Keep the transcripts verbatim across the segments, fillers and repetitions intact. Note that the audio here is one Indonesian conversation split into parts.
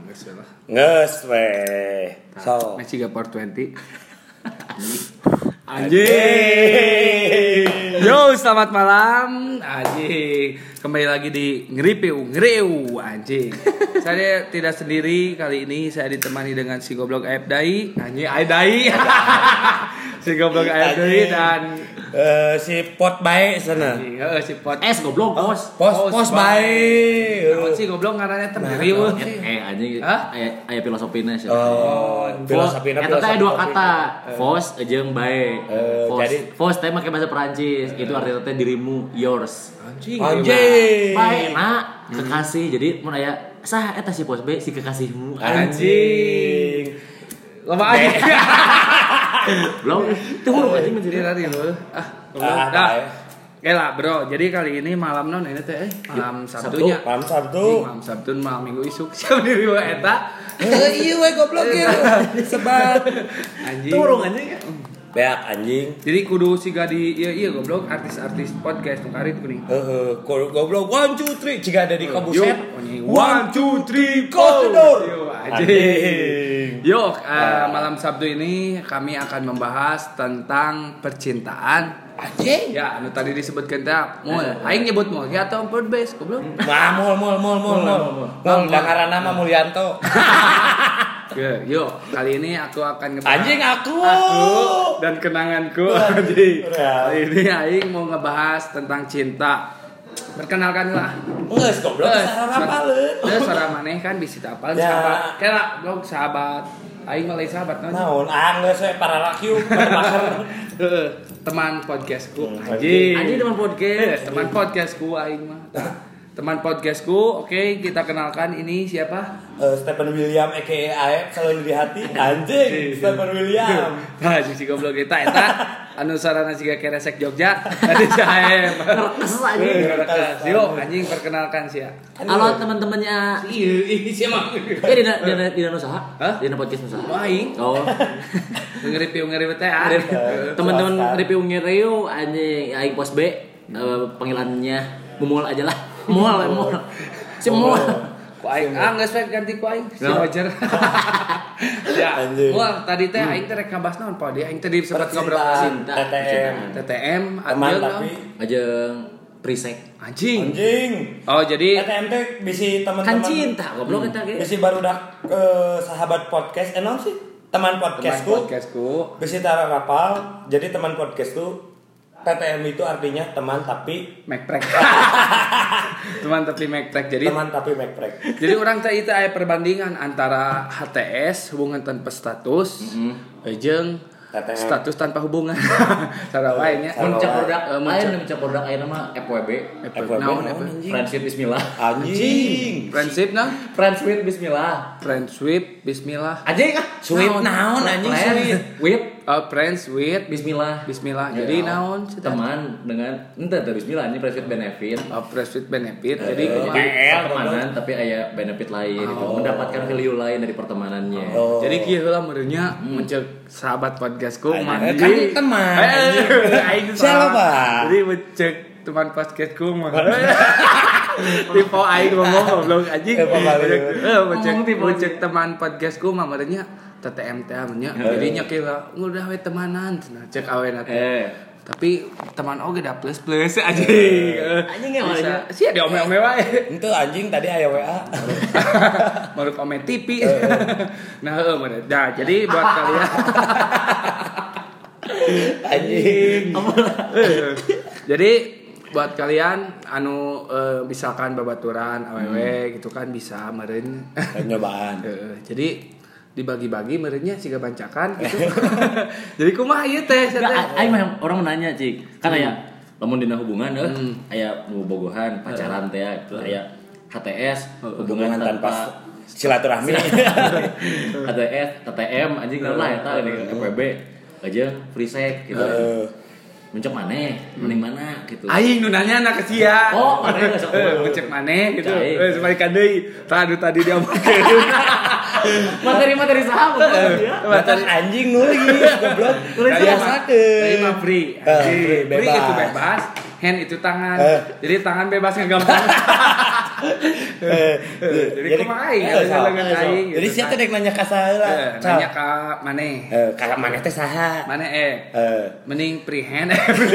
geus lah. Geus we. So, Messi ga four twenty. Anjing. Yo, selamat malam. Anjing. Kembali lagi di Ngeripiu, Ngeriu anjing. Saya tidak sendiri kali ini, saya ditemani dengan si goblok Aib Dai. Anjing, Aib Dai. Si goblok Aib Dai dan uh, si Pot bae sana. Heeh, si Pot. Es goblok, Pos. Pos pos bae. Naon sih goblok ngaranna teh Ngeriu. Eh anjing aya aya filosofina sih. Oh, filosofina. Eta teh dua kata, Fos jeung bae. Uh, Fos, jadi Fos teh make bahasa Perancis. Itu artinya teh dirimu, yours. Anjing. Anjing. Bae na kekasih. Jadi mun aya sah eta si Pos bae si kekasihmu. Anjing. Loba aja. Belum itu huruf anjing menjadi tadi lu. Ah, Ah, dah. Oke lah bro, jadi kali ini malam non ini teh eh, malam Sabtunya. Malam Sabtu. Anjing, malam Sabtu malam Minggu isuk siapa diri wa eta. Eh iya we goblok ya. Sebat. Anjing. turung anjing. Beak anjing. Jadi kudu siga di iya iya goblok artis-artis podcast nu karit kuning. Heeh, goblok one two three jika ada di kabuset. One two three close the door. Anjing. Yuk, uh, malam Sabtu ini kami akan membahas tentang percintaan. Anjing. Ya, anu tadi disebutkan teh, mul. Aing nyebut mul, ya atau podcast, goblok. Mah mul mul mul mul mul. Mul dangaran nama Mulyanto. Oke, yuk, kali ini aku akan ngebahas Anjing aku. aku dan kenanganku. Anjing. Ya. Kali ini Aing mau ngebahas tentang cinta. Perkenalkan lah. Geus goblok sarana paleun. Terus suara maneh kan bisa apal Ya. sahabat. Kela blog sahabat. Aing mah lain sahabat naon. Naon? Ah geus we para laki Heeh, teman podcastku. Anjing. Anjing teman Eh, podcast. teman podcastku aing mah. Teman podcastku, oke kita kenalkan ini siapa? Uh, Stephen William aka Aep selalu di hati. Anjing, Stephen William. Nah, si goblok kita eta anu sarana siga keresek Jogja. Tadi saya. Keres anjing. Yuk, anjing perkenalkan sih ya. Halo teman-temannya. Iya, ini siapa? Eh dina dina dina usaha? Hah? Dina podcast usaha. Aing. Oh. Ngeripiu ngeripiu teh. ah. Teman-teman review ngereu anjing aing pos B uh, panggilannya Mumul aja lah. Mual, mual. Si mual. Ku aing ah geus we ganti ku aing. Si No. Roger. Ya. Anjing. Wah, tadi teh aing teh rek ngabahas naon pa dia aing teh sempat ngobrol Cinta. T T M. T T M Teman anjeun tapi Ajeng Prisek. anjing. anjing. Oh, jadi T T M teh bisi Kan teman-teman. cinta goblok eta ge. Bisi barudak ke sahabat podcast. Eh naon sih? Teman teman podcastku. podcastku. Bisi tara rapal. Jadi teman podcastku T T M itu artinya teman tapi Macprek. Teman tapi Macprek. Jadi teman tapi mekprek. jadi orang teh itu aya perbandingan antara H T S hubungan tanpa status jeung T T M. status tanpa hubungan. Cara wae nya. Sarua. Muncak produk Eh, lain muncak. muncak produk ayeuna mah F W B. F W B Naon, naon, F W B? anjing? Friendship bismillah. Anjing. Friendship nah. Friends with bismillah. Friendship bismillah. Anjing ah. Sweet naon anjing sweet. With Oh, friends with bismillah. bismillah. Ya, Jadi naon sih teh? teman dengan ente teh bismillah ini friends with benefit. Oh, friends with benefit. Eh, Jadi eh, kumaha? eh. Pertemanan tapi aya benefit lain gitu. Oh. Mendapatkan value lain dari pertemanannya. Oh. Jadi kieu heula meureunnya muncul sahabat podcastku Eh, mandi. kan teman, anjing. Aing Siapa, salah. Pak? Jadi muncul teman podcastku mah. Tipe aing ngomong goblok anjing. Tipe balik. Eh, muncul Ngomong tipe muncul teman podcastku mah meureunnya T T M teh nya. Jadinya kieu udah we temanan cenah cek awena teh. Eh. Tapi teman oge da plus plus anjing. Anjing ya, Bisa. wae. Sia di ome-ome wae. Itu anjing tadi aya W A. Baru komen T V. Nah, heeh meureun. Nah, jadi buat kalian Anjing. jadi buat kalian anu e, misalkan babaturan awewe gitu kan bisa meureun. Nyobaan. Heeh, jadi dibagi-bagi meureunnya siga bancakan gitu. Jadi kumaha ieu teh? Enggak, aing mah orang menanya, Cik. Kan aya lamun dina hubungan euy, aya bobogohan, pacaran teh aya H T S, hubungan tanpa silaturahmi. H T S, T T M anjing lah eta F W B. Aja free sex gitu. Heeh. Mencek maneh, mending mana gitu. Aing nu nanya anak sia. Oh, maneh geus Eh, ngecek maneh gitu. Cai. Eh, sebalikan deui. Tadi tadi dia omongkeun. Materi-materi saha bukan dia. Materi anjing nulis goblok. Tadi Biasakeun. mah free. Eh, Anjing. free, Free bebas. itu bebas. Hand itu tangan. Eh. Jadi tangan bebas ngegampang. Jadi kumaha aing eh, sok, dengan eh, sok. aing. Jadi sia teh dek nanya ka saheula. Eh, nanya ka maneh. Eh, ka maneh teh saha? Maneh eh Eh, mending prehend.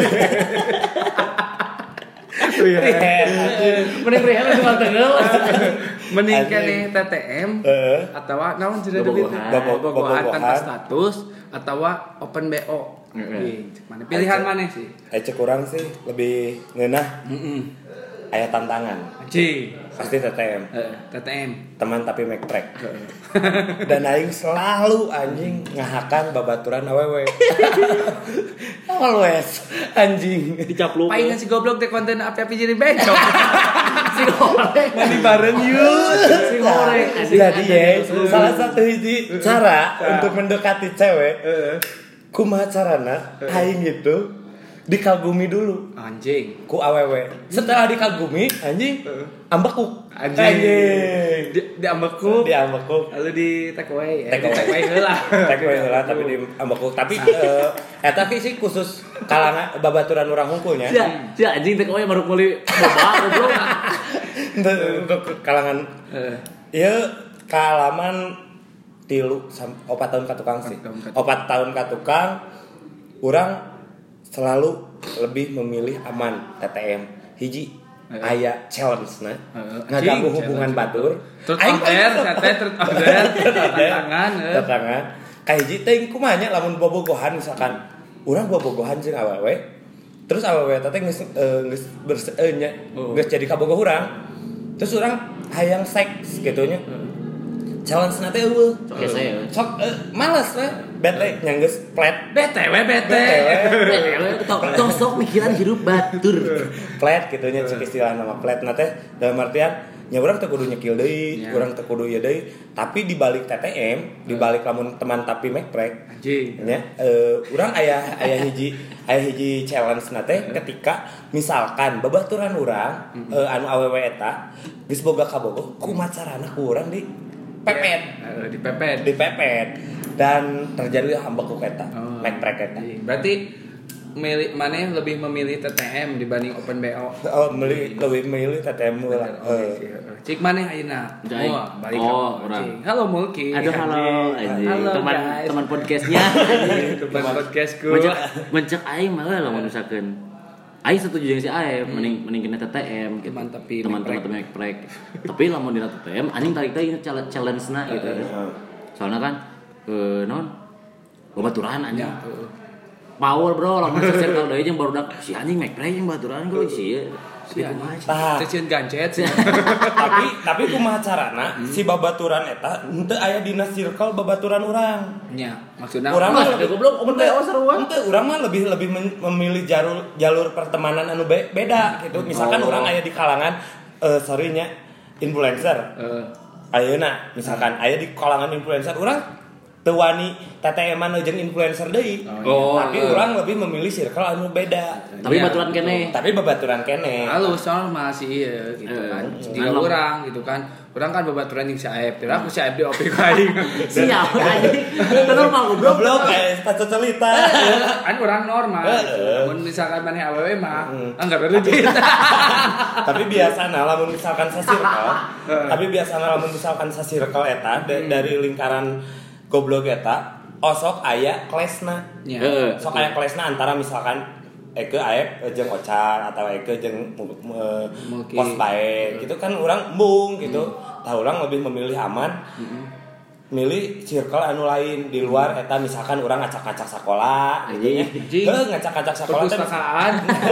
Mending rehat cuma tengel. Mending Anjing. keneh T T M Heeh. atawa naon cenah Bobogohan. deui teh? Bobogohan tanpa Bobogohan. status atawa open B O. Heeh. Ih, cek mana pilihan mana sih? Aya cek urang sih lebih ngeunah Heeh. aya tantangan. Anjing. Pasti T T M. Heeh, T T M. Teman tapi mekrek. Dan aing selalu anjing ngahakan babaturan awewe. Always anjing. Dicapluk. Palingan si goblok teh konten api-api jadi becok. Si goreng. Mandi bareng yuk. Si goreng. Jadi ya, salah satu hiji cara untuk mendekati cewek, Heeh. kumaha carana aing itu dikagumi dulu Anjing. ku awewe. Setelah dikagumi, anjing ambekuk. Anjing. Di, di ambekuk. Di ambekuk. Lalu di take away. Take away. Take away heula. Take away heula tapi di ambekuk. Tapi eh eta sih khusus kalangan babaturan urang hungkulnya. Sia, sia anjing teh kowe baru meuli boba goblok. Untuk kalangan Heeh. ieu kaalaman tilu sam- opat tahun ka tukang sih. Opat tahun ka tukang. Opat tahun ka tukang urang selalu lebih memilih aman T T M. Hiji Heeh. aya challenge-na. Heeh. Ngaganggu Anjing, hubungan challenge. batur. Truth or dare, sate truth or dare, tantangan. heeh. Tantangan. Ka hiji teh kumaha nya lamun bobogohan misalkan urang bobogohan jeung awewe. Terus awewe teh geus eh, geus berse eh, nya Oh. geus jadi kabogoh urang. Terus urang hayang seks gitu nya. Challenge-na teh eueuh. Oke saya. Sok eh, males we. Bete nya geus plat. B T W B T. B T W. Tok tok sok mikiran hirup batur. Plat gitu nya cek istilah nama plat na teh dalam artian nya urang teu kudu nyekil deui, Ya. urang teu kudu ieu deui, tapi di balik T T M, di balik lamun teman tapi mekrek Anjing. nya eh urang aya aya hiji aya hiji challenge na teh ketika misalkan babaturan urang eh, anu awewe eta geus boga kabogoh kumaha carana ku urang di pepet Heeh, dipepet. dipepet dan terjadi hambekuk eta Oh. mekrek eta. Berarti milih mana lebih memilih T T M dibanding Open B O? Oh, beli lebih milih T T M lah. Oke, Eh. cik mana ayeuna? Cik. Wah, balik Oh, ke orang. Cik. Halo Mulki. Aduh halo anjing. Halo, Teman guys. teman podcastnya. Teman podcastku. Mencek mencek aing malah lamun misalkan aing setuju jeung si Aep mending mending kena T T M gitu. Teman tapi teman-teman tapi mekrek. Tapi lamun dina T T M anjing tarik teh challenge-na gitu. Soalnya kan eh non babaturan anjing. Ya, heeh. Power bro, lamun circle deui jeung barudak si anjing mekrek jeung baturan ku si Si anjing. Tah. Ceceun gancet. tapi tapi kumaha carana si babaturan eta henteu aya dina circle babaturan urang. Nya, maksudna Urang Mas, mah ada goblok, open B O seruan. Henteu urang mah lebih lebih men- memilih jalur jalur pertemanan anu be- beda gitu. Misalkan Oh. urang aya di kalangan eh sorry nya influencer. Heeh. Ayeuna misalkan aya di kalangan influencer urang teu wani T T M-an jeung influencer deui. Oh, tapi eh. urang lebih memilih circle anu beda. Tapi Iya, baturan kene. Tapi babaturan kene. Halus soal masih iya gitu Eh, kan. eh, Jika ngalong. orang gitu kan. Orang kan babaturan jeung si Aep. Tira aku si Aep di O P K aing. Siap anjing. Teu normal goblok. Goblok kayak status celita. Kan orang normal. Heeh. Mun misalkan maneh awewe mah enggak legit. Tapi biasana lamun misalkan sa circle, tapi biasana lamun misalkan sa circle eta da- dari lingkaran goblok eta, osok aya klesna. Ya. Heeh. Sok aya klesna antara misalkan Eke Aep jeung Ocar atau Eke jeung uh, Mulki. Pos Bae gitu kan urang embung gitu. Tah urang lebih memilih aman. Milih circle anu lain di luar eta misalkan urang ngacak-ngacak sekolah gitu nya. Anjing. Heuh ngacak-ngacak sekolah teh Perpustakaan.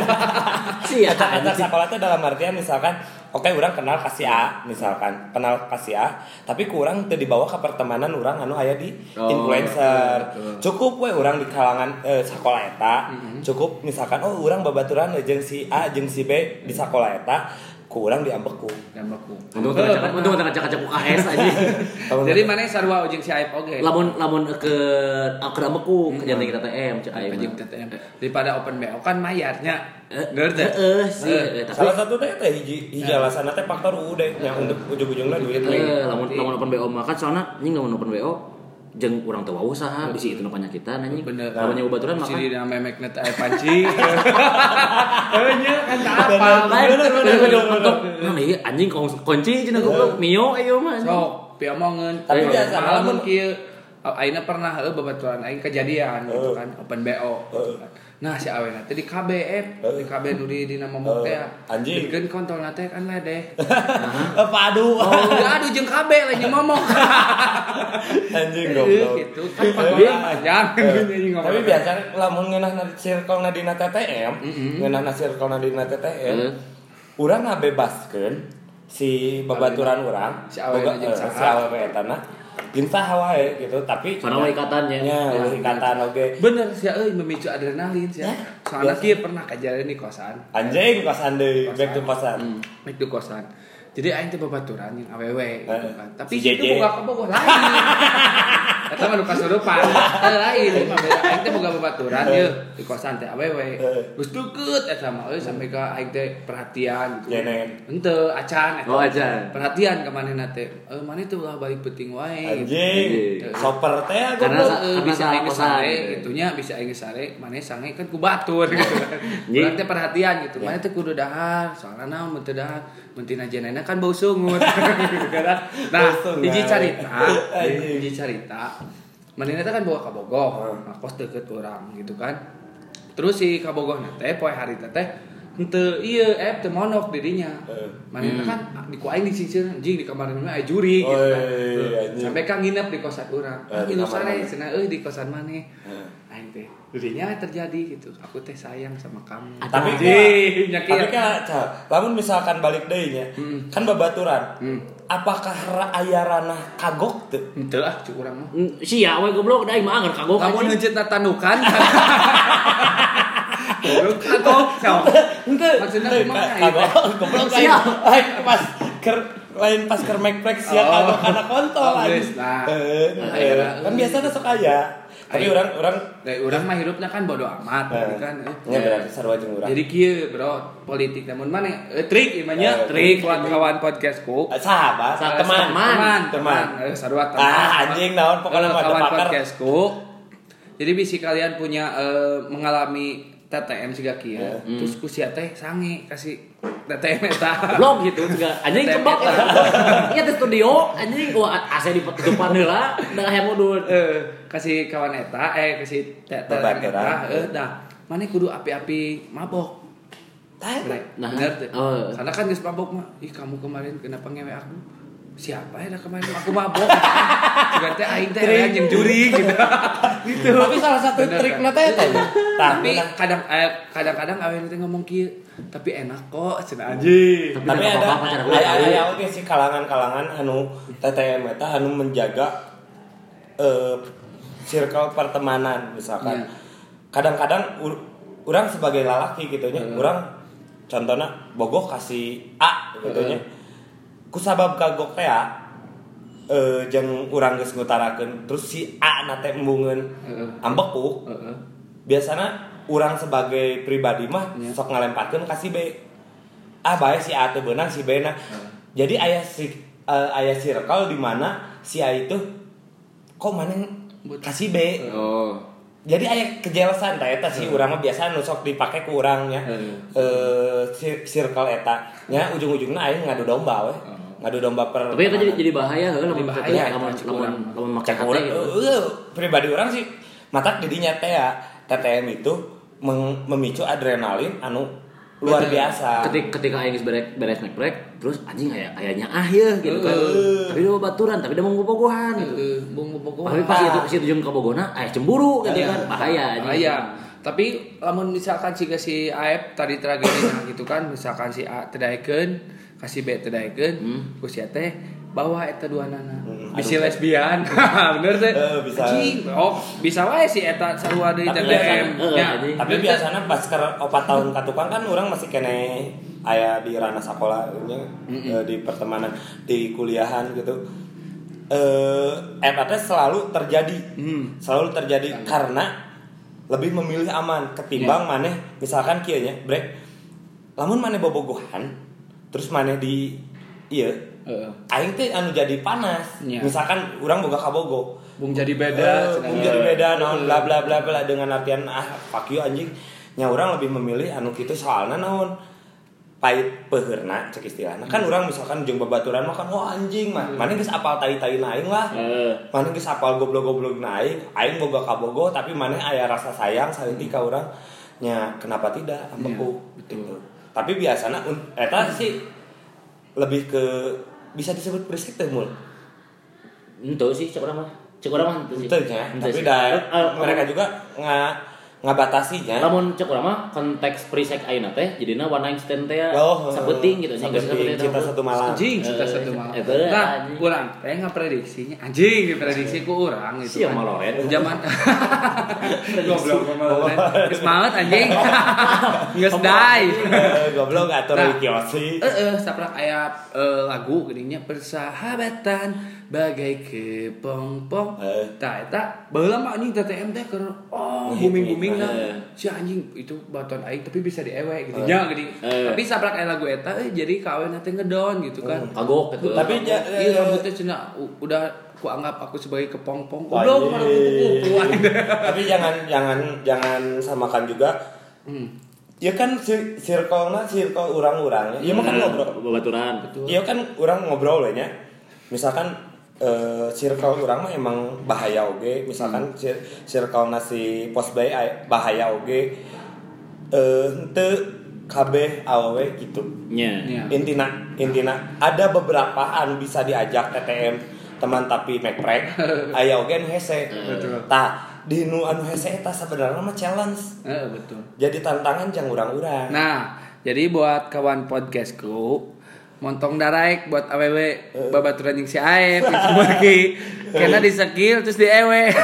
Siap ngacak-ngacak anjing. sekolah teh dalam artian misalkan oke urang kenal ka si A misalkan kenal ka si A tapi kurang teu dibawa ke pertemanan urang anu aya di Oh, influencer betul. cukup we urang di kalangan eh, sekolah eta cukup misalkan oh urang babaturan jeung si A jeung si B di sekolah eta ku urang diambeku Gambaku. Untung teu ngacak untung teu ngacak-ngacak U K S anjing. Jadi mana sarua jeung si Aep oge. Lamun lamun ke ke ambeku ke jantan kita T M cek aing. Jeung T T M. Daripada Open B O kan mayarnya. Eh, Bener teh. Heeh sih, Eh, eh, tapi salah satu teh teh hiji hiji alasanna teh faktor U deh yang untuk ujung-ujungna duit we. eh lamun lamun open B O mah kan soalnya anjing lamun open B O jeung urang teu wau saha bisi itu nu panyakitan anjing. Bener. Kalau nyoba baturan maka si dina memek net aya panci. Heuh nya kan teu apal. lain bener untuk nah ieu anjing kunci cenah goblok mio aya mah. Sok piomongkeun. Tapi biasa lamun kieu ayeuna pernah heuh babaturan aing kejadian gitu kan open B O gitu kan. Nah si awena teh di K B F, di K B nu di dina momok teh. Anjing. Dikeun kontolna teh kan ledeh. Apa aduh. Oh, aduh jeung K B lain momok. Anjing goblok. Gitu kan kontolna panjang. Tapi biasa lamun ngeunahna circle-na dina T T M, ngeunahna circle-na dina T T M, urang ngabebaskeun si babaturan urang, si awena jeung si awewe etana. Jeung saha wae gitu, tapi soalna ikatannya. Ya, ikatan oge. Bener sih euy memicu adrenalin sih. Soalnya kieu pernah kejadian di kosan. Anjing kosan deui, back to kosan. Back to kosan. Jadi aing teh babaturan jeung awewe gitu kan. Tapi Si itu boga boga lain. Eta mah nu kasurupan. Teu lain, mah beda aing teh boga babaturan ieu di kosan teh awewe. Geus deukeut eta mah euy sampai ka aing teh perhatian gitu. Jenen. Henteu acan eta. Oh, acan. Perhatian ka manehna teh. Eh maneh teh ulah balik penting wae. Anjing. Soper teh Karena goblok. Eh, Karena bisa salah aing kosan. sare gitunya bisa aing sare maneh sange kan ku batur gitu kan. Urang teh perhatian gitu. Maneh teh kudu dahar, soalna naon mun teu dahar mun tina jenena kan bau sungut. Nah, hiji carita, hiji carita. Manehna teh kan bawa ka Bogoh, ngakos deukeut urang gitu kan. Terus si ka Bogohna teh poe harita teh henteu ieu F teu monok dirinya. Manehna kan di ku aing disisir anjing di kamar mana aya juri gitu kan. Sampai kan nginep di kosan urang. Nginep sare cenah euy di kosan maneh. Aing teh dirinya terjadi gitu. Aku teh sayang sama kamu. Tapi Anjing, kan, tapi kan, Cal, lamun misalkan balik deui nya, kan babaturan. Apakah ra- aya ranah kagok teu? Henteu ah cuk urang mah. Sia we goblok da mah anger kagok. Kamu ngeunceutna tanukan. Goblok kagok. Henteu. Maksudna Teu, kumaha ka- ieu teh? kagok goblok lain. Lain pas ker lain pas ker make sia Oh. kagok kana kontol Oh, anjing. geus, nah. Heeh. heeh. Kan biasana sok aya. Tapi Ayo. orang orang Nah, urang mah hidupna kan bodo amat Eh, kan. eh. nya berarti sarua jeung urang. Jadi kieu bro, politik namun mana eh, trik ieu mah nya, Eh, trik trik. kawan-kawan podcastku. Eh, sahabat, Eh, teman, teman, teman. Eh, sarua teman. Ah, anjing naon pokoknya mah kawan pakar. podcastku. Jadi bisi kalian punya eh, mengalami T T M siga kieu. Terus ku sia teh sange kasih T T M eta. Blog gitu juga anjing T T M kebak eta. iya di studio anjing wah A C di tutupan heula da hayang mudun Eh, kasih kawan eta eh kasih T T M eta eh dah. Mane kudu api-api mabok. Nah, Bener tuh. oh. Karena kan geus mabok mah. Ih, kamu kemarin kenapa ngewe aku? Siapa ya dah kemarin aku mabok? Juga teh aing teh aya jeung juri gitu. Gitu. Tapi salah satu Bener, trikna kan? teh eta. Tapi kadang eh, kadang-kadang awewe teh ngomong kieu, tapi enak kok cenah anjing. Tapi ada aya aya oge sih kalangan-kalangan anu T T M eta anu menjaga eh circle pertemanan misalkan. Iya. Kadang-kadang ur- urang sebagai lalaki gitu nya, urang contohna bogoh kasih A gitu nya. Ku sabab kagok teh A eh jeung urang geus ngutarakeun terus si A na teh embungeun ambekuk. Heeh. Biasana urang sebagai pribadi mah Yeah. sok ngalemparkeun ka si B. Ah bae si A teh beunang si B na. Jadi aya si uh, aya circle di mana si A itu kok maneh kasih B. oh Jadi aya kejelasan tah eta si urang mah biasa nu sok dipake ku urang nya. Heeh. Eh si- circle eta nya ujung-ujungna aing ngadu domba we. Ngadu domba per. tapi itu jadi jadi bahaya heula lamun bahaya, lamun cek lamun urang. lamun make Cek hati urang, gitu. eh, pribadi orang sih matak didinya teh ya T T M itu meng- memicu adrenalin anu luar biasa. ketika ketika aing geus beres beres make break terus anjing aya ayanya ah ya gitu kan Heeh. tapi dia baturan tapi dia mau bobogohan gitu Heeh, bung bogoh. tapi pas itu si jeung ka bogona aya cemburu gitu kan bahaya anjing. Bahaya. Tapi lamun misalkan si si A F tadi tragedinya gitu kan, misalkan si A teu daekeun, kasih B teu daekeun, ku sia teh bawa eta duanana. Bisi lesbian. Bener teh. Eh, bisa. Anjing, oh, bisa wae si eta sarua deui T Tapi T biasa- M. eh, Ya, anjing. Tapi biasanya pas keur opat tahun katukang kan orang masih kene aya di ranah sekolah nya, eh, di pertemanan di kuliahan gitu. Eh eta teh selalu terjadi. Selalu terjadi karena lebih memilih aman ketimbang maneh misalkan kieu nya, brek. Lamun maneh bobogohan terus maneh di ieu Heeh. aing teh anu jadi panas. Nya. Misalkan urang boga kabogo. Bung jadi beda. Eh, Bung jadi beda naon bla bla bla bla dengan artian ah fuck you anjing. Nya urang lebih memilih anu kitu soalna naon pait peheurna cek istilahna. Kan urang misalkan jeung babaturan makan wah anjing mah. Mana geus apal tai-tai aing lah. Heeh. Mana geus apal goblok-goblok aing, aing boga kabogo tapi mana aya rasa sayang saliti ka urang. Nya kenapa tidak ambeku gitu. Tapi biasana eta sih lebih ke bisa disebut berisik teh mul. Itu sih cek urang mah. Cek urang mah itu sih. Itu nya, Henteu tapi sih. da, Eh, eh, mereka juga nga ngabatasinya. Lamun cek urang mah konteks prisek ayeuna teh jadina one night stand teh Oh, sabeting gitu nya geus sabeting, cinta satu malam. Anjing cinta Eh, satu malam. eta, Nah, anjing. urang teh ngaprediksinya anjing diprediksi ku urang gitu. Sia maloen. Zaman goblok maloen. Geus maot anjing. Geus die. Eh, Goblok atur Nah. Kiyoshi. Heeh, saprak aya eh, lagu geuning nya persahabatan bagai kepompong. Eh. Tah eta baheula mah anjing T T M teh keur oh booming-booming lah. Si anjing itu baton aing tapi bisa diewe gitu nya geuning. Eh. Tapi saprak aya lagu eta eh, jadi kawin teh ngedon gitu kan. Kagok gitu. Tapi ja- Iya eh, rambutnya cenah u- udah ku anggap aku sebagai kepompong. Wah, Udah iya. mana kupu-kupu. Tapi jangan jangan jangan samakan juga. Hmm. Ya kan si- circle-na circle urang-urang ya. Ieu mah kan ngobrol. Babaturan. Iya kan urang ngobrol we nya. Misalkan eh, circle urang mah emang bahaya oge. Misalkan cir- circle-na si Posbay aya- bahaya oge. Eh henteu kabeh awewe gitu. Nya. Nya. Intina intina ada beberapa anu bisa diajak T T M teman tapi mekrek aya oge anu hese. Betul. Tah di nu anu hese eta sebenarnya mah challenge. Heeh, betul. Jadi tantangan jang urang-urang. Nah, jadi buat kawan podcastku, montong daraek buat awewe babaturan jeung si Aep itu bagi kena di skill terus di ewe.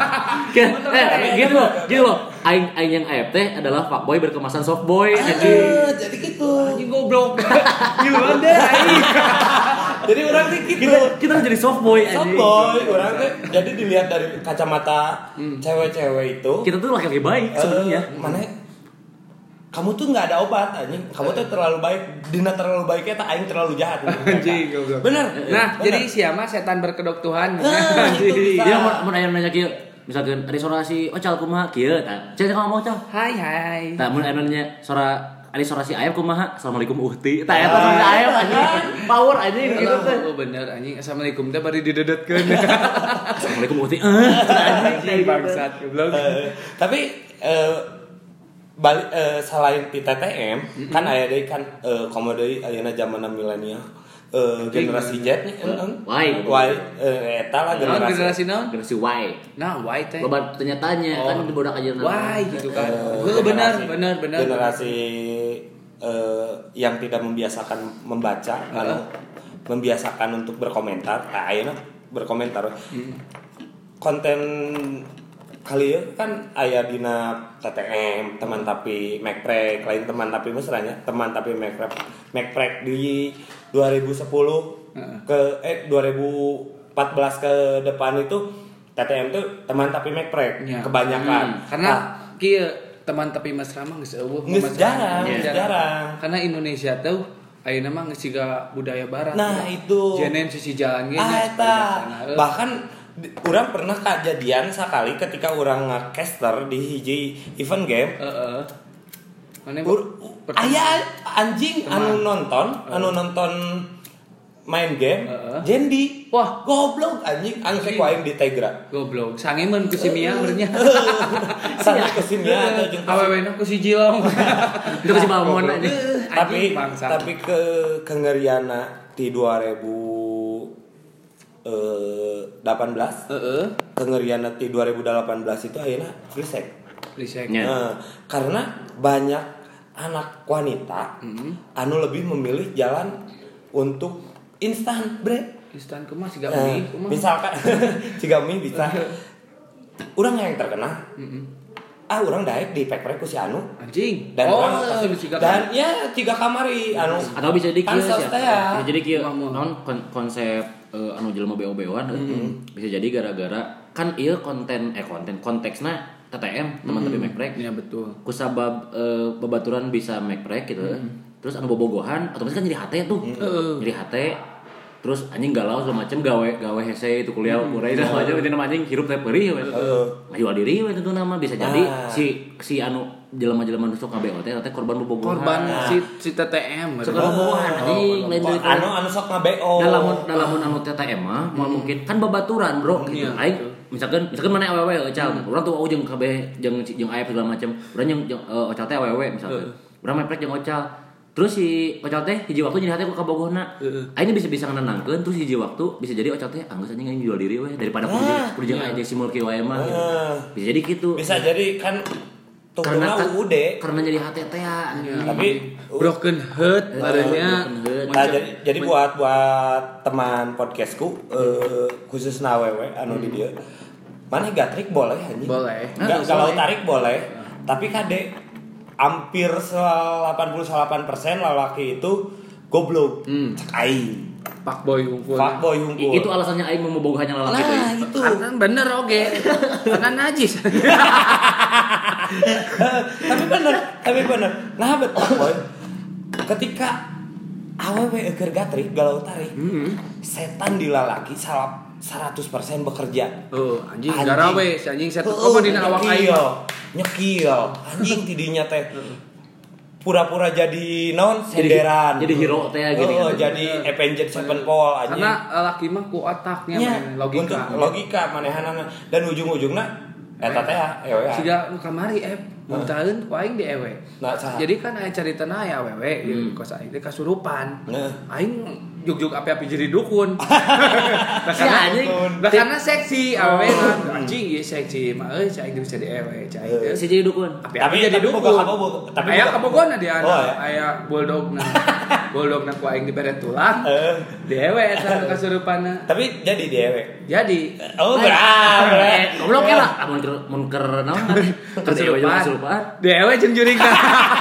Eh, gitu loh, gitu loh. Aing aing yang A F T adalah fuckboy berkemasan softboy anjing. Ah, jadi gitu. Anjing goblok. Gimana deh aing? Jadi orang teh gitu. Kita kita harus jadi softboy anjing. Softboy, orang teh jadi dilihat dari kacamata cewek-cewek itu. Kita tuh laki-laki baik sebenarnya. Eh, mana kamu tuh nggak ada obat anjing. Kamu tuh terlalu baik. Dina terlalu baiknya tak aing terlalu jahat. Anjing goblok. Bener. Nah, bener. jadi siapa setan berkedok Tuhan. Ah, itu bisa. Dia mau mau aya nanya kieu. Misalkan restorasi ocal kumaha kieu tah. Cek ngomong ocal. Hai hai. Tah mun aya nanya suara restorasi ayam kumaha? Assalamualaikum uhti. Tah eta suara ayam anjing. Power anjing gitu teh. Oh bener anjing. Assalamualaikum teh bari didedetkeun. Assalamualaikum uhti. Eh, Anjing bangsat goblok. Eh, tapi eh, balik eh, selain di T T M kan aya deui kan eh, komo deui ayeuna zamanna milenial. Eh, generasi Z nih heeh. Y. Y eh, eta lah Naon generasi. generasi naon? Generasi Y. Nah, why teh? Loba tanya-tanya Oh. kan di bodak aja Why gitu kan. Eh, Heeh benar generasi- benar benar. Generasi eh, yang tidak membiasakan membaca, anu, membiasakan untuk berkomentar. Nah, ayeuna berkomentar. Konten kali ya kan aya dina T T M, teman tapi Macprek, lain teman tapi mesranya, teman tapi Macprek. Macprek di dua ribu sepuluh ke eh dua ribu empat belas ke depan itu T T M tuh teman tapi Macprek Ya. kebanyakan. Hmm. Karena Nah, kieu teman tapi mesra mah geus eueuh. Geus mesra. jarang, Iya. geus jarang. Karena Indonesia tuh ayeuna mah geus siga budaya barat. Nah, itu. Jenen sisi jalan ge ah, nya eta. sepeda. Bahkan di- urang pernah kejadian sekali ketika urang nge-caster di hiji event game. Heeh. Mana Ur- aya anjing Teman. anu nonton, anu nonton main game, Heeh. Jendi. Wah. Goblok anjing, anu Anjing. ku aing di Tegra. goblok. Sangeun ku si Mia beurnya. Sana kesimnya atau jeung Awewena ku si Jilong. Itu si Balmon aja. tapi bangsa. tapi ke kengeriana di dua ribu delapan belas Heeh. kengeriana di dua ribu delapan belas itu ayeuna frisek. Lisek. Ya. Nah, karena banyak anak wanita anu lebih memilih jalan untuk instan bread. Instan kumaha siga Nah, mie kumaha. misalkan ciga mie bisa urang yang terkena ah urang daek di pek-pek ku si anu Anjing. dan oh, orang pasti siga dan ya ciga kamari anu Atau bisa jadi kieu pansos sia. teh ya. Bisa jadi kieu Mau, mau. naon kon- konsep eh, anu jelema B O B O-an bisa jadi gara-gara kan ieu konten eh konten konteksna T T M teman tapi Macprek. Iya betul. Kusabab eh, babaturan bisa Macprek gitu. Terus anu bobogohan otomatis kan jadi hate tuh. Heeh. Jadi hate terus anjing galau segala macem gawe gawe hese itu kuliah kuliah itu aja itu nama anjing hirup teh perih we jual diri we itu nama bisa jadi si si anu jelema-jelema nu sok K B O teh teh korban bobogohan korban si si T T M korban bobogohan anjing lain deui anu anu sok K B O dalam dalam anu T T M mah mau mungkin kan babaturan bro gitu aing misalkan misalkan mana awewe ocal urang tuh jeung K B jeung jeung A F segala macam urang jeung ocal teh awewe misalkan urang meprek jeung ocal terus si ocal teh hiji waktu jadi hati ku kabogohna aing bisa-bisa ngenangkeun terus hiji waktu bisa jadi ocal teh anggeus anjing aing jual diri we daripada kudu jeung aing si mulki wae mah bisa jadi gitu bisa jadi kan karena U U D karena jadi H T T ya tapi broken heart badannya nah jadi jadi buat buat teman podcastku khususna awewe anu di dieu mana gatrik boleh anjing boleh kalau tarik boleh tapi kade hampir delapan puluh delapan persen lalaki itu goblok. Hmm. Cek aing. Fuckboy hungkul. Fuckboy hungkul. Itu alasannya aing mau membogohannya lalaki nah, deui. Itu. Karena bener oge. Karena najis. Tapi bener, tapi bener. Nah, betul boy. Ketika awewe keur gatrik galau tarik. Hmm. Setan di lalaki salap seratus persen bekerja. Oh, anjing garawe si anjing setan komo dina awak aing. Nyekil anjing tidinya teh pura-pura jadi non senderan jadi, jadi hero teh gitu oh, jadi Avenged Sevenfold anjing karena laki mah ku otaknya ya, logika untuk logika manehanana dan ujung-ujungna eta teh ewe siga nu kamari eh muntaheun ku aing di ewe nah, jadi kan aya caritana aya awewe hmm. kos aing teh kasurupan nah. Aing juk-juk api-api jadi dukun. Nah karena nah karena seksi awewe anjing ieu seksi mah euy cai bisa di ewe cai teh. Si jadi dukun. Tapi jadi dukun. Tapi aya kabogona dia aya bulldogna. Bulldogna ku aing dibere tulang. Di ewe eta kasurupanna. Tapi jadi di ewe. Jadi. Oh berat. Goblok lah mun keur mun keur naon keur di ewe kasurupan. Di ewe jeung jurigna.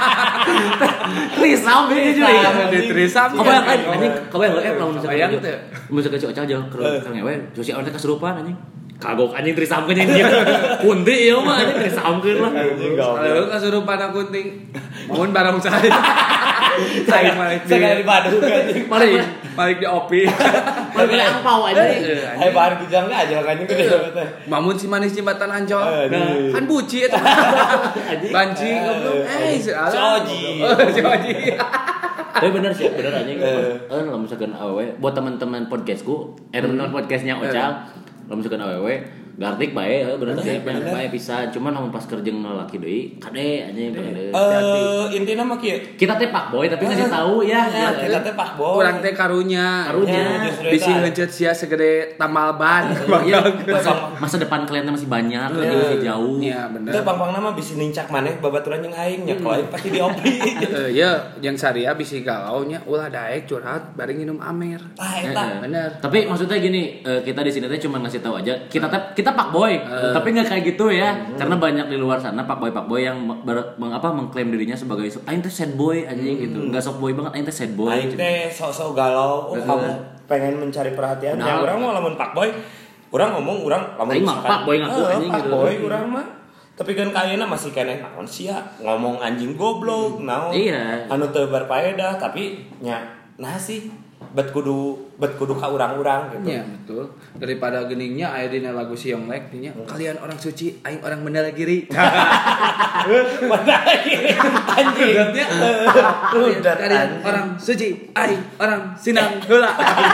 Trisam ieu jurigna. Di trisam. Kabayang anjing kabayang eh lamun misalkan gitu. Misalkan si Ocal jeung keur ngewe, si Ocal teh kasurupan anjing. Kagok anjing trisamkeun anjing. Kunti ieu mah anjing trisamkeun lah. Kalau kasurupan kunting. Mun barang saya. Saya malik di di Bandung anjing. Malik malik di opi. Malik di angpau anjing. Hai bar kijang aja anjing gede teh. Mamun si manis jembatan Ancol. Kan buci eta. Banci goblok. Eh si Oji. Si Oji. Tapi bener sih, bener anjing. Eh, lamun misalkan awewe buat teman-teman podcastku, eh teman-teman podcastnya Ocal, lamun misalkan awewe gardik bae, bener sih, bener bae pisan. Cuman lamun pas kerja laki deui, kade anjing bener. Eh, intina mah kieu. Kita teh pak boy tapi ngasih tahu ya. Kita teh pak boy. Urang teh karunya. Karunya. Bisi heuceut sia segede tambal ban. Masa depan kalian masih banyak, masih jauh. Iya, bener. Teu pang-pangna mah bisi nincak maneh babaturan jeung aing nya kalau aing pasti diopi. Heeh, ya, yang saria bisi galau nya ulah daek curhat bareng minum amer. Ah, eta. Bener. Tapi maksudnya gini, kita di sini teh cuma ngasih tahu aja. Kita teh kita pak boy, uh. tapi nggak kayak gitu ya, uh. karena banyak di luar sana pak boy pak boy yang ber, meng, apa mengklaim dirinya sebagai aing teh sad boy anjing uh. gitu, nggak sok boy banget, aing teh sad boy. Aing teh sok-sok galau, oh, uh. kamu pengen mencari perhatian, nah. Ya orang mau lamun pak boy, orang ngomong orang lamun aing mah pak boy ngaku uh, anjing pak gitu. Boy orang mah, tapi kan kayaknya masih keneh naon sia ngomong anjing goblok, naon, iya. anu teu berfaedah, tapi nya nah sih. Bet kudu bet kudu ka urang-urang gitu. Iya, betul. Daripada geningnya aya dina lagu si Yonglek nya, hmm. kalian orang suci, aing orang Mandalagiri. Mandalagiri. Anjing. Kalian orang suci, aing orang Sinang heula.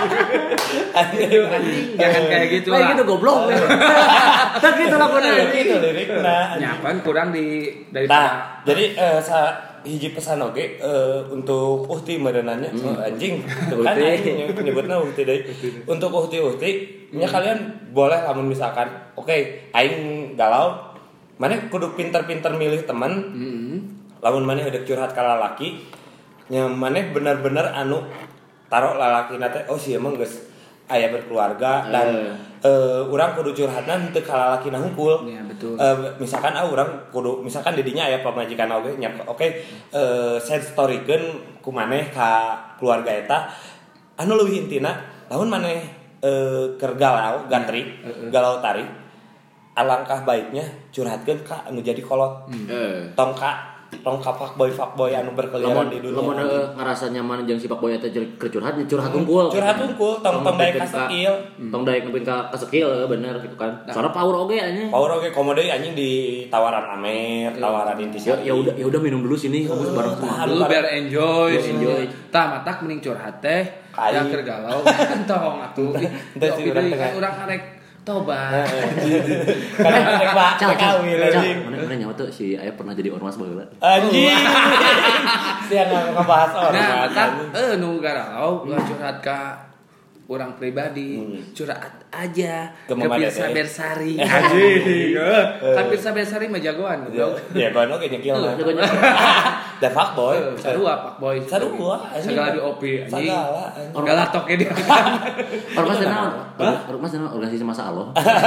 Anjing, jangan kayak gitu lah. Kayak gitu goblok. Tak gitu lagunya. Gitu lirikna. Nya kan kurang di daripada. Jadi eh hiji pesan oge uh, untuk uhti merenannya hmm. oh, anjing kan anjing nyebutna uhti deui untuk uhti-uhti nya hmm. kalian boleh lamun misalkan oke okay, aing galau maneh kudu pinter-pinter milih teman hmm. lamun maneh udah curhat ka lalaki nya maneh bener-bener anu taro lalakina teh oh sia emang geus aya berkeluarga dan uh. uh, urang kudu curhatna henteu ka lalakina hungkul. Iya, betul. Uh, misalkan ah urang kudu misalkan didinya aya pamajikan oge nya oke okay, uh, sad storykeun ku maneh ka keluarga eta anu leuwih intina lamun maneh uh, keur galau gantri uh, uh. galau tari alangkah baiknya curhatkeun ka anu jadi kolot. Hmm. Uh. Tong ka tong ka fuckboy fuckboy anu berkeliaran di dunia. Lamun ngarasa nyaman jeung si fuckboy eta curhat curhat unggul. Curhat unggul tong tong daek ka skill. Tong daek nepi ka skill bener gitu kan. Soalnya power oge anjing. Power oge komo deui anjing di tawaran Amer, tawaran intisari. Ya udah ya udah minum dulu sini kamu bareng sama. Dulu biar enjoy, Biar enjoy. Tah matak mending curhat teh. Kai. Ya keur galau tong atuh. Teu sih urang teh. Urang arek tobat. Karena rek Pak Cal, cal, kawin cal. anjing. Mana mana nyawa tuh si Aya pernah jadi ormas baheula. Anjing. Sia ngebahas orang. Nah, kan eh nu galau ulah curhat ka orang pribadi, curhat aja ke Pirsa Bersari. Anjing. Kan Pirsa Bersari mah jagoan, goblok. Ya gono ge nyekil mah. Da fuckboy. Sarua fuckboy. Sarua. Segala di O P anjing. Segala. Segala toke dia. Ormas naon? Ormas naon organisasi masa Allah.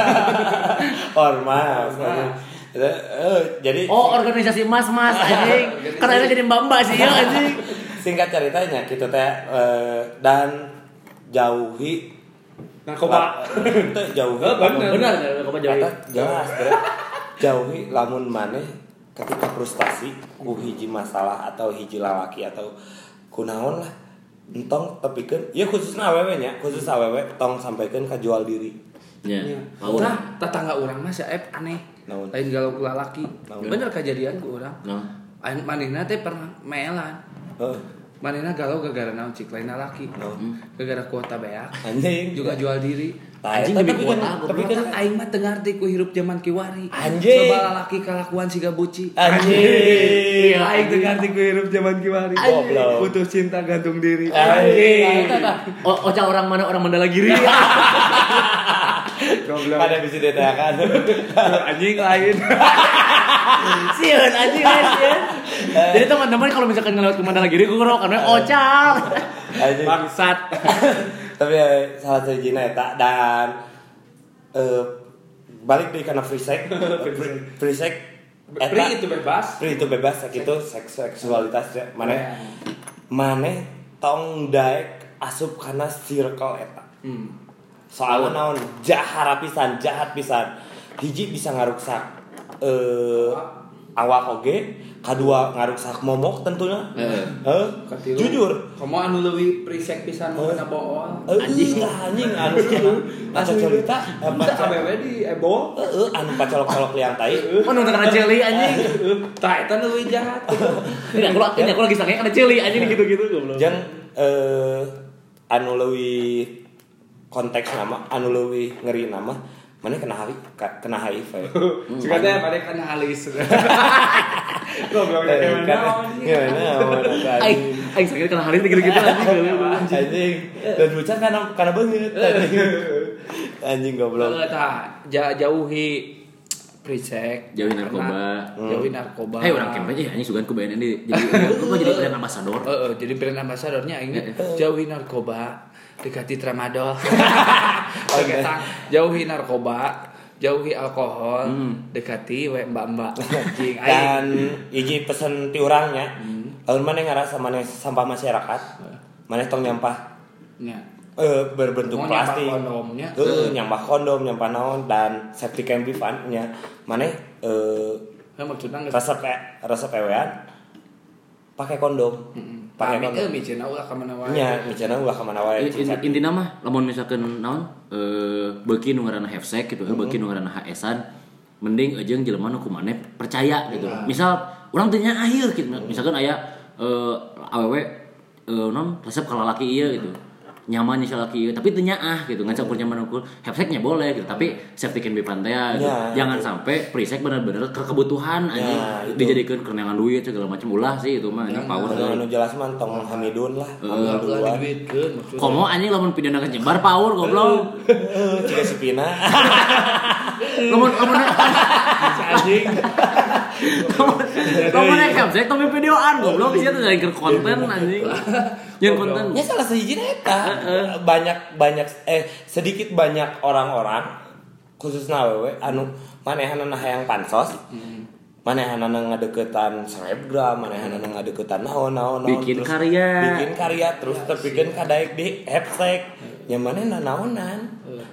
Ormas. Eh, jadi Oh, organisasi mas-mas anjing. Kan akhirnya jadi mbak-mbak sih ya anjing. singkat ceritanya gitu teh eh, dan jauhi narkoba. Teu jauhi. Bener. Benar, narkoba jauhi. Eta jelas bre. Jauhi lamun maneh ketika frustasi ku hiji masalah atau hiji lalaki atau kunaon lah. Entong tepikeun ieu khususna awewe nya, khusus awewe tong sampaikeun ka jual diri. Ya. Tah tetangga urang mah saep aneh. Naon? Lain galau ku lalaki. Naon? Bener kejadian ku urang. Nah. Aing manehna teh pernah meelan. Heeh. Manehna galau gara-gara naon cik lain lalaki. Naon? Gara-gara kuota beak. Anjing Juga jual diri. Anjing tapi lebih kan kuat tapi kan Aing mah teu ngarti ku hirup zaman kiwari. Anjing. Coba lalaki kalakuan siga buci. anjing Aing teu ngarti ku hirup zaman kiwari. Goblok. Putus cinta gantung diri. anjing Oh, Oca orang mana orang Mandala Giri. Goblok. pada bisa diteakan Anjing lain. Sieun anjing guys ya. Jadi teman-teman kalau misalkan ngelewat ke Mandala Giri gue ngerok karena Ocal. anjing Bangsat. tapi ya, salah satu jina eta dan eh, balik deui kana free sex free, free sex eta Free itu bebas. free itu bebas sakitu seks seksualitas ya maneh maneh tong daek asup kana circle eta Hmm. soalnya naon jahat pisan jahat pisan hiji bisa ngaruksak eh awak oge kadua ngaruksak momok tentunya Heeh. Heuh Katilu. jujur Kamu anu leuwih prisek pisan mau kena bool. anjing anjing anu cenah anu cerita Kita awewe di Ebo. heeh anu pacolok-colok liang tai Oh nonton karena celi anjing. Tah eta leuwih jahat. Ini aku ini aku lagi sakit karena celi anjing gitu-gitu goblok. jeung eh anu leuwih konteks nama anu leuwih ngeri nama mana kena H I V kena H I V Jika teh bade kana alis. Goblok Eh, ya kan- gimana Aing aing sakit karena hari gitu-gitu anjing. anjing dan lucu karena karena banget anjing anjing goblok Tah jauhi prisek, Jauhi narkoba. jauhi narkoba. Hei orang kemana aja anjing sugan ku B N N di jadi lu mah jadi brand ambassador. Heeh, jadi brand ambassadornya ini jauhi narkoba, dekati tramadol. Oke, tang jauhi narkoba, jauhi alkohol, dekati we mbak-mbak. Anjing dan hiji pesen ti urangnya lamun maneh ngarasa maneh sampah masyarakat maneh tong nyampah nya. eh berbentuk Mau nyampah plastik kondomnya. heeh nyampah kondom nyampah naon dan safety campaign nya maneh eh Nah, maksudnya nggak resep resep ewean pakai kondom pakai pamit kondom eh micina ulah ka mana wae. nya micana ulah ka mana wae Intina mah lamun misalkan naon eh beuki nu ngaranna hefsek gitu, beuki nu ngaranna H S-an mending ajeung jelema nu kumaneh percaya gitu. Misal urang teu nya akhir gitu. Misalkan aya eh awewe eh non resep ka lalaki ieu gitu. Nyaman nya laki tapi teu nyaah gitu. Ngan campur nyaman ukur hefseknya boleh gitu, tapi safety can be pantea gitu. Ya, Jangan sampai prisek bener-bener ke kebutuhan anjing Ya, itu. dijadikan kerenangan duit segala macam ulah sih itu mah anjing power anu euy. anu jelas mah tong hamidun lah Ulah hamidun diduitkeun maksudnya. Komo anjing lamun pidana kenyebar power goblok. jika si Pina Lamun lamun Anjing. lamun naik capsek tapi videoan goblok sia teh jadi konten anjing. Yang konten. ya salah sahiji eta banyak banyak eh sedikit banyak orang-orang khususna awewe anu manehanana hayang pansos manehanana ngadeukeutan selebgram manehanana ngadeukeutan naon-naon naon, Bikin terus karya. bikin karya terus tepikeun ka daek di hashtag nya manehna naonan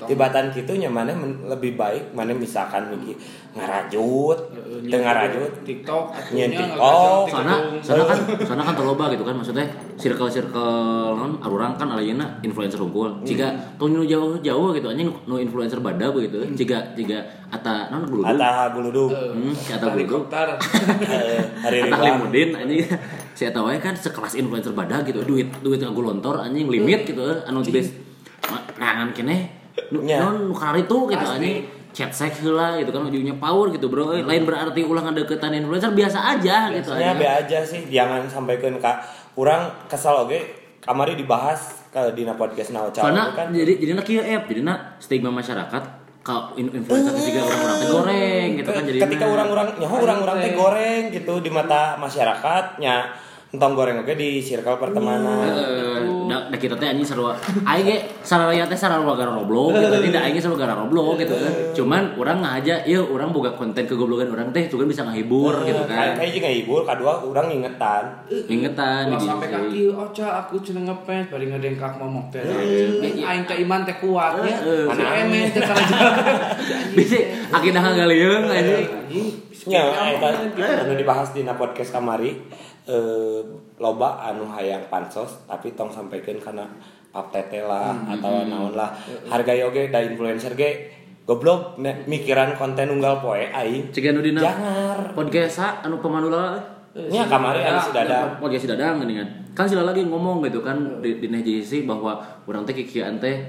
tibatan kitunya mana men- lebih baik mana misalkan miki ngarajut teu ngarajut TikTok nyen atunya TikTok Sana, sana kan, sana kan terloba gitu kan maksudnya circle-circle non arurang kan alayana influencer unggul. Jika tong nu jauh-jauh gitu anjing nu influencer badag gitu. Jika jika ata non guludug. Ata guludug. Hmm, si ata guludug. helikopter. Hari Ata Ridwan. Halimudin anjing si eta wae kan sekelas influencer badag gitu. Duit duit ngagulontor anjing limit gitu anu geus ngangan keneh nu non nu itu gitu anjing chat sek heula gitu kan ujungnya power gitu bro. Lain berarti ulah ngadeukeutan influencer biasa aja gitu aja. Be aja sih jangan sampaikan ka urang kesal oge kamari dibahas ke dina podcast na Ocal kan. Jadi jadi nak kieu app jadi nak stigma masyarakat ka influencer juga orang-orang teh goreng gitu kan jadi ketika orang-orang nyaho orang-orang teh goreng gitu di mata masyarakatnya entong goreng oge di circle pertemanan. Heeh, da, da kita teh anjing sarua aing ge sararea teh sarua gara Roblox gitu tidak aing ge sarua gara Roblox gitu kan. Cuman urang ngahaja ieu urang boga konten kegoblogan urang teh juga bisa ngahibur gitu kan. Kayak juga ngahibur kadua urang ngingetan. Ingetan Kalau sampai kaki Ocha aku cenah ngepens bari ngedengkak momok teh. Aing teh iman teh kuat ya. Si emen teh karaja. Bisa akidah ngalieung anjing. Nya eta anu dibahas dina podcast kamari. Eh, loba anu hayang pansos tapi tong sampaikan karena pap tete lah hmm, atau hmm, naon lah harga yoge da influencer ge goblok ne, mikiran konten unggal poe aing cegan nu dina jangar podcast anu pemanula nya kamari anu Sidadang podcast Sidadang geuningan kan sila lagi ngomong gitu kan di dina J C bahwa urang teh kikieuan teh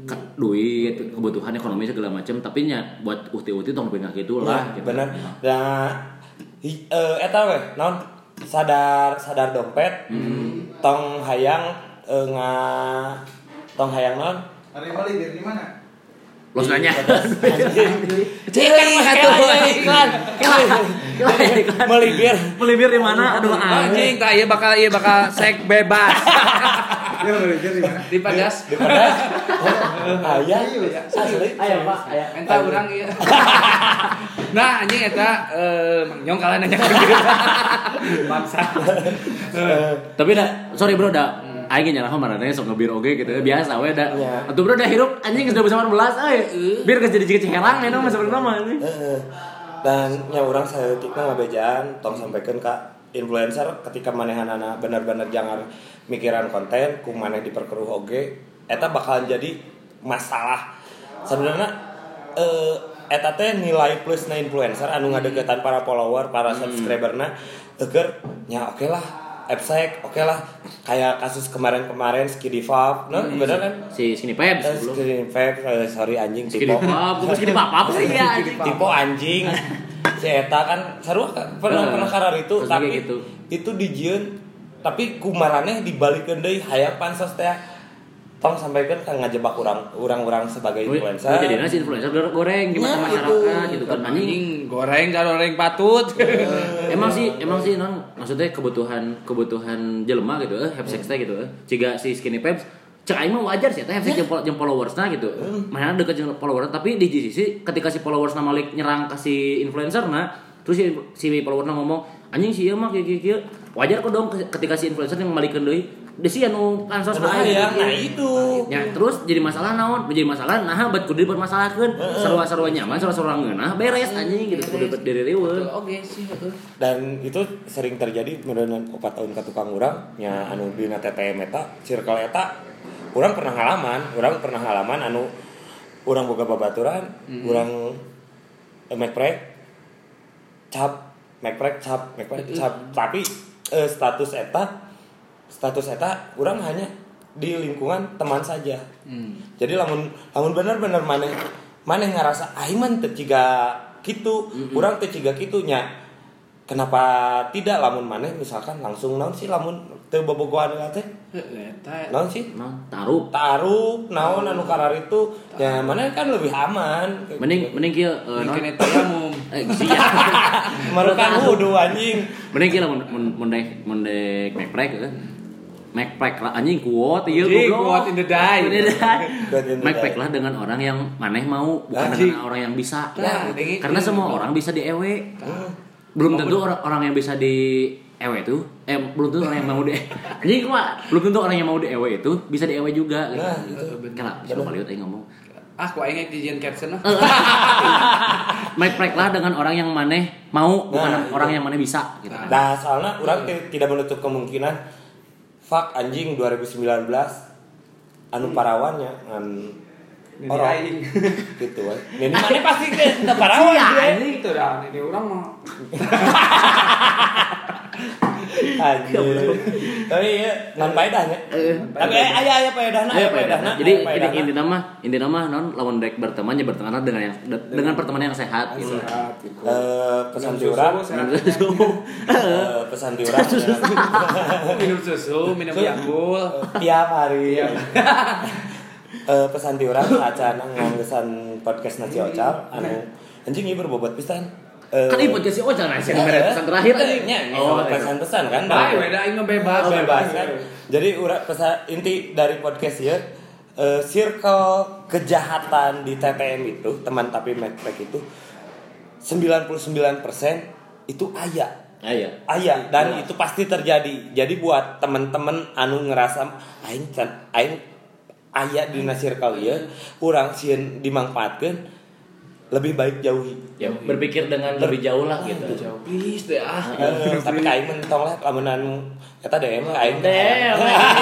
duit kebutuhan ekonomi segala macam tapi nya buat uhti-uhti tong pengen kitu lah gitu. Bener da eh eta we naon sadar sadar dompet hmm. tong hayang uh, nga tong hayang non hari balik di mana los nanya cek atuh iklan iklan melibir melibir di mana aduh anjing tah ieu bakal ieu bakal sek bebas ya melibir di mana di Padas di Padas aya asli aya Pak aya eta urang ieu nah anjing eta eh nyong kalah nanya bangsa tapi dah sorry bro dah aing nyarah marane sok ngebir oge gitu biasa we da atuh bro dah hirup anjing geus dua ribu delapan belas euy bir geus jadi cicing herang eta mah sebenarnya mah anjing dan nya urang saeutikna ngabejaan tong sampaikeun ka influencer ketika manehanana bener-bener jangan mikiran konten ku maneh diperkeruh oge eta bakalan jadi masalah sebenarnya eh eta teh nilai plusna influencer anu ngadeuketan para follower para subscriberna eueur nya oke lah Epsek, oke lah kayak kasus kemarin-kemarin Skidi Fab, no hmm, bener kan? Si Skinny Peps uh, Skinny Peps, uh, sorry anjing Skinny Fab, bukan Skinny Fab apa sih ya? Tipo anjing, si Eta kan sarua pernah uh, pernah karar itu, tapi gitu. Itu dijieun, tapi kumaraneh dibalikeun deui hayang pansos teh. Tong sampaikan kan ngajebak orang orang-orang sebagai influencer. Oh, jadi nasi influencer goreng di mata nah, masyarakat gitu kan anjing goreng goreng patut. emang sih emang sih non maksudnya kebutuhan kebutuhan jelema gitu eh have sex teh gitu eh. Ciga si Skinny Peps cek aing mah wajar sih teh have sex jeung jeung followersna gitu. Mana deket jeung followers tapi di sisi ketika si followersna malik nyerang ka si influencerna terus si si followersna ngomong anjing sih ieu mah kieu-kieu wajar kok dong ketika si influencer yang malikeun deui desi anu pansos bae ya nah itu ya terus jadi masalah naon menjadi masalah nah bet kudu dipermasalahkeun sarua-sarua nyaman sarua-sarua ngeunah beres anjing gitu kudu diri riweuh oke sih betul dan itu sering terjadi merenang opat tahun ka tukang urang nya anu dina T T M eta circle eta urang pernah ngalaman urang pernah ngalaman anu urang boga babaturan mm-hmm. urang eh, mekprek cap mekprek cap mekprek cap tapi eh, status eta status eta urang hanya di lingkungan teman saja. Hmm. Jadi lamun lamun bener-bener maneh maneh ngarasa aing mah teu ciga kitu, mm-hmm. urang teu ciga kitu nya. Kenapa tidak lamun maneh misalkan langsung naon sih lamun teu bobogohan teh? Eta naon sih? Naon? Taruh. Taruh naon anu karar itu ya maneh kan lebih aman. Mending mending kieu naon mungkin eta tayamum. Eh sia. Marukan wudu anjing. Mending kieu mun mun mendek mendek mekprek heuh. Macpack lah anjing kuat ieu goblok. Kuat in the die. Macpack lah dengan orang yang maneh mau bukan anjing. Dengan orang yang bisa. Nah, karena semua orang bisa di ewe. Hmm. Belum tentu orang orang yang bisa di ewe itu eh belum tentu orang yang mau di anjing kuat. Belum tentu orang yang mau di ewe itu bisa di ewe juga gitu. Nah, gitu. Kala bisa baliut aing ngomong. Ah, ku aing dijieun caption mah. Make-make lah dengan orang yang maneh mau, bukan Nah, orang yang maneh bisa gitu. Nah, soalnya orang t- tidak menutup kemungkinan fuck anjing dua ribu sembilan belas anu parawannya ngan Ini orang aing. gitu we. Ini mana pasti ke teu parawan Iya, dia. ini itu dah, ini orang mah. Anjing. Tapi ya ngan faedahnya. Tapi aya aya faedahna, aya faedahna. Jadi ini inti nama, inti nama non lawan rek berteman ya berteman dengan yang dengan pertemanan yang sehat gitu. Eh pesan di urang. Eh pesan di urang. Minum susu, minum Yakult. Tiap hari. Eh pesan di urang acan nganggesan podcast Nasi Ocal anu anjing ieu berbobot pisan. Kan ibu jadi oh jangan nasi nomor pesan terakhir tadi. Oh, pesan-pesan kan. Baik, beda aing mah bebas. Oh, bebas kan. Jadi urang pesan inti dari podcast ya eh circle kejahatan di T T M itu, teman tapi Macpack itu sembilan puluh sembilan persen itu aya. Aya. Aya dan itu pasti terjadi. Jadi buat teman-teman anu ngerasa aing can aing aya di circle ieu, urang sieun dimanfaatkeun lebih baik jauhi. Ya berpikir dengan lebih jauh lah gitu. Jauh. Please deh ah. Eh, tapi kain mentong lah lamun anu eta D M kain. D M.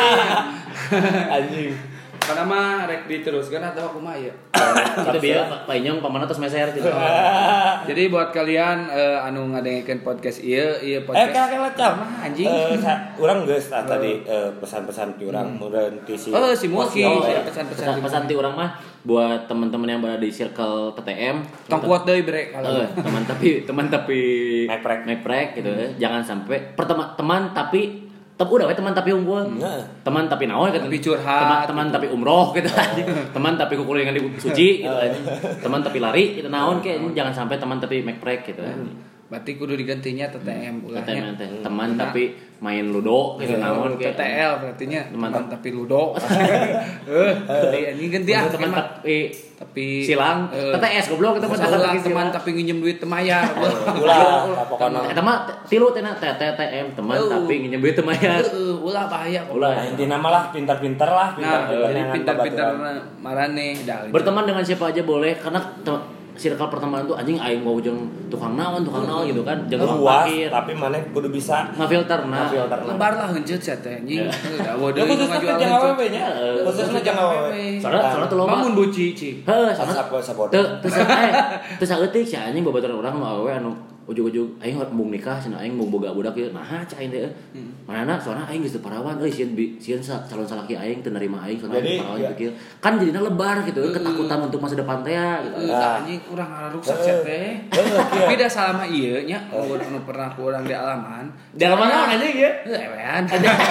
Anjing. Karena mah rek diteruskan atau aku mah ya. Kita biar Pak Inyong pamanah terus meser gitu. Jadi buat kalian eh, anu ngadengekeun podcast ieu, ieu Eh podcast. kakek lecam. Anjing. Eh sa- urang geus tah tadi eh, pesan-pesan ti urang mudahan ti si. Oh, si Mulki. Oh, Ya, ya. pesan-pesan. Pesan, pesan ti orang mah buat teman-teman yang berada di circle T T M. Tong kuat deui bre kalau. Eh, teman tapi teman tapi Make-prek. make-prek gitu ya. Jangan sampai pertama teman tapi tapi udah we teman tapi unggul. Nah. Teman tapi naon gitu. Tapi curhat, Teman, teman tapi umroh gitu aja. Teman tapi kukulingan di bukit suci gitu aja. Teman tapi lari gitu naon kayak jangan sampai teman tapi make-prek gitu aja. Berarti kudu digantinya T T M T T M ulahnya. teh teman tapi main ludo gitu naon T kayak T L berarti nya Teman- teman tapi ludo. Eh, tadi anjing ganti ah teman teman tapi tapi silang eh, T T S goblok kita mah Ulah lagi teman silang. tapi nginjem duit teu mayar. Ulah pokokna. Eta mah tilu teh T T T M teman Oh. tapi nginjem duit teu mayar. Heeh, ulah bahaya. Ulah. Nah, intinya mah lah pintar-pintar lah, Nah, pintar-pintar jadi dengan pintar-pintar babaturan. marane dah. Berteman dengan siapa aja boleh karena te- circle pertemanan tuh anjing aing mau jeung tukang naon tukang naon gitu kan jeung tukang Luas, parkir tapi mana kudu bisa ngafilter nah ngafilter. lebar lah heuncet sia teh anjing. Da Ya khususnya ke jeung awewe nya. Khususnya jeung awewe. soalnya soalnya tuh loba Mamun buci ci. heuh soalnya Asap sabodo. teu teu sa eh teu saeutik si anjing babaturan urang nu awewe anu ujug-ujug aing mung nikah cenah aing mung boga budak ieu nah cai aing teh manana soalnya aing geus teu parawan euy sieun bi- sieun sa- calon salaki aing teu nerima aing soalnya Jadi, aing parawan ya. gitu kan jadinya lebar gitu ketakutan untuk masa depan teh ya gitu Eh, Nah. anjing urang rusak sia teh. Tapi da salama ieu nya anu pernah ku urang di alaman. di alaman naon anjing ya Heuh ewean.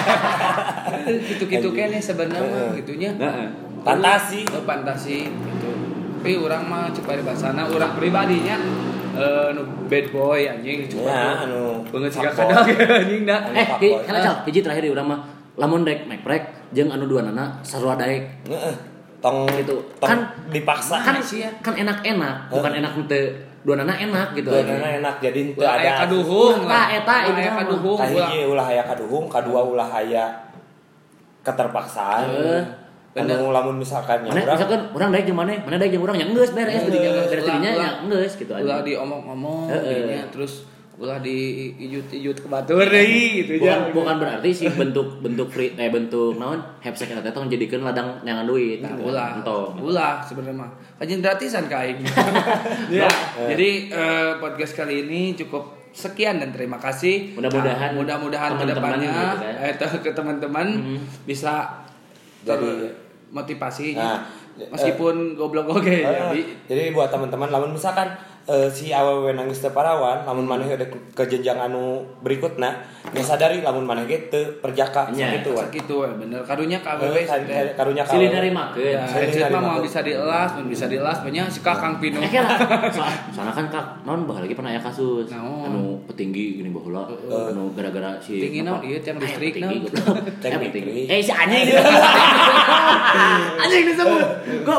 Gitu-gitu kene sebenarnya mah gitunya. heeh Fantasi. Eh, fantasi gitu. Tapi urang mah cek bari basana urang pribadinya eh nu bad boy anjing Ya, coba anu. banget sih fuckboy. kadang anjing dah. Eh, Fuck hi, boy. kana cal, hiji terakhir di urang mah lamun daek meprek jeung anu dua nana sarua daek. Heeh. Tong Gitu. tong Kan- dipaksa. Kan kan enak-enak, bukan enak teu dua nana enak gitu. Dua aja. nana enak jadi teu Ulah aya ada. kaduhung Tah, lah. eta Ulah ini aya mah. kaduhung ulah. Kahiji ulah aya kaduhung, kadua ulah aya keterpaksaan. Heeh. Anu lamun misalkan nya Mana urang misalkan urang daek jeung maneh, mana daek jeung urang nya geus beres Geus, dari ulah- dari dirinya ulah- nya geus gitu Ulah aja. diomong-omong Heeh. dinya terus ulah diijut-ijut ke batur deui gitu Bukan, nya. bukan berarti sih bentuk bentuk free eh bentuk naon hepsek eta teh jadikeun ladang neangan duit. Nah, gitu. ulah. Entong. Ulah sebenarnya mah. Kajian gratisan ka aing. Ya, jadi eh, podcast kali ini cukup sekian dan terima kasih. Mudah-mudahan Nah, mudah-mudahan teman-teman kedepannya gitu kan. eh, te- ke teman-teman Mhm. bisa Jadi- motivasi Nah, meskipun goblok oke Eh, jadi jadi buat teman-teman lamun misalkan eh, si awewe nangis teu parawan lamun maneh udah ke- ke jenjang anu berikutna ya sadari lamun maneh ge teu perjaka Nya, sakitu we. sakitu we bener karunya ka Eh, awewe kar- kar- karunya ka Silih awewe. narimakeun. ya Silih headset mah narimakeun. mau bisa dielas mun bisa dielas banyak si kakang pinu Eh kira, soal- soalnya kan kak, non baheula lagi pernah aya kasus, Naon? anu petinggi gini baheula, anu gara-gara si Petinggi naon? apa? Ieu tiang Eh, listrik petinggi, naon? goblok. Tiang Eh, petinggi. listrik. Eh si anjing anjing disebut, goblok.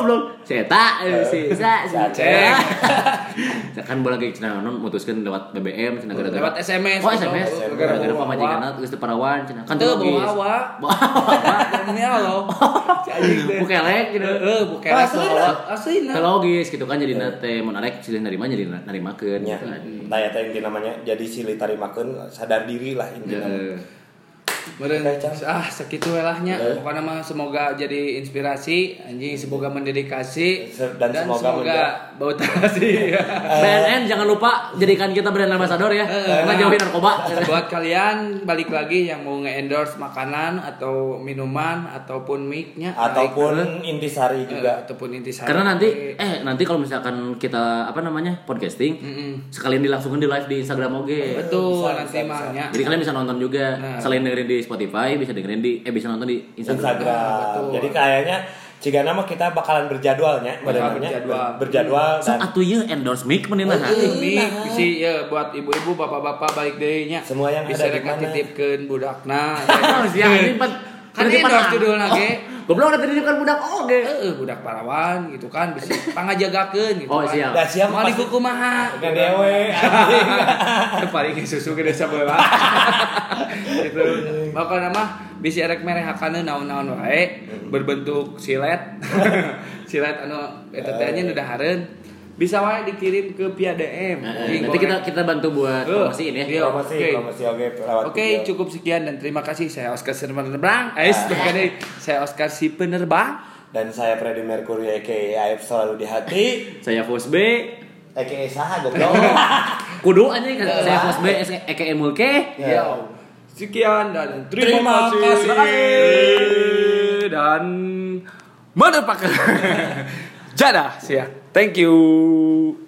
Si Eta, eh, si Sa, si Si Aceh. Kan bola lagi cenah non mutuskeun lewat B B M cenah gara-gara Lewat S M S. Oh, S M S. Gara-gara Gara-gara bawa pamajikanna geus teu parawan cenah. Kan Teu logis. bawa Bawa. Demi Allah. Si anjing teh. Bukelek gitu. Heeh, bukelek bawa. Aslina. Kan logis gitu kan jadi nate mun arek silih narima jadi narimakeun Ya, gitu kan. tanya teh inti namanya jadi silih tarimakeun sadar diri lah intinya. Heeh. Meureun Oke, Cang. ah sakitu we lah nya. Oke. Pokona mah semoga jadi inspirasi anjing, semoga mendedikasi Se- dan semoga bautasi. B N N jangan lupa jadikan kita brand ambassador ya. Karena jauhin narkoba. Buat kalian balik lagi yang mau nge-endorse makanan atau minuman ataupun mic-nya Ataupun intisari eh, juga. ataupun intisari. Karena nanti eh nanti kalau misalkan kita apa namanya podcasting Mm-mm. sekalian dilangsungkan di live di Instagram oge. Betul Bisa, nanti bisa, mah bisa. nya. Jadi kalian bisa nonton juga Nah. selain dengerin di Spotify bisa dengerin di eh bisa nonton di Instagram. Instagram. betul. Jadi kayaknya jika nama kita bakalan berjadwalnya, Bakal benernya berjadwal. berjadwal So dan atuh ye endorse mic mending lah. Ini bisi ya buat ibu-ibu bapak-bapak balik deui nya. Semua yang bisa ada di rek mana. titipkeun budakna. Siap ini pan Kan endorse judulna ge. Goblok ada titipkan budak oge. Heeh, budak parawan gitu kan bisa pangajagakeun gitu Oh, kan. siap. dah siap Mau pasti- dikukumaha. Dengan dewe. Paling susu gede sabeula. Gitu. Pokona mah bisi erek merehakanna naon-naon wae berbentuk silet. Silet anu eta teh nya nu dahareun. Bisa wae dikirim ke via D M. Eh, Nanti kita kita bantu buat Eh, promosiin ya. iya. Promosi, Oke. promosi oke lewat Oke, video. cukup sekian dan terima kasih. Saya Oscar si penerbang. Eh, sebagai saya Oscar si penerbang. Dan saya Freddie Mercury aka A F selalu di hati. Saya Fos B. Aka saha goblok. Kudu aja kan saya Fos B E K M Mulke. Ya. Sekian dan Terima terima, kasih. kasih. Dan motherfucker. Jadah, siap. Thank you.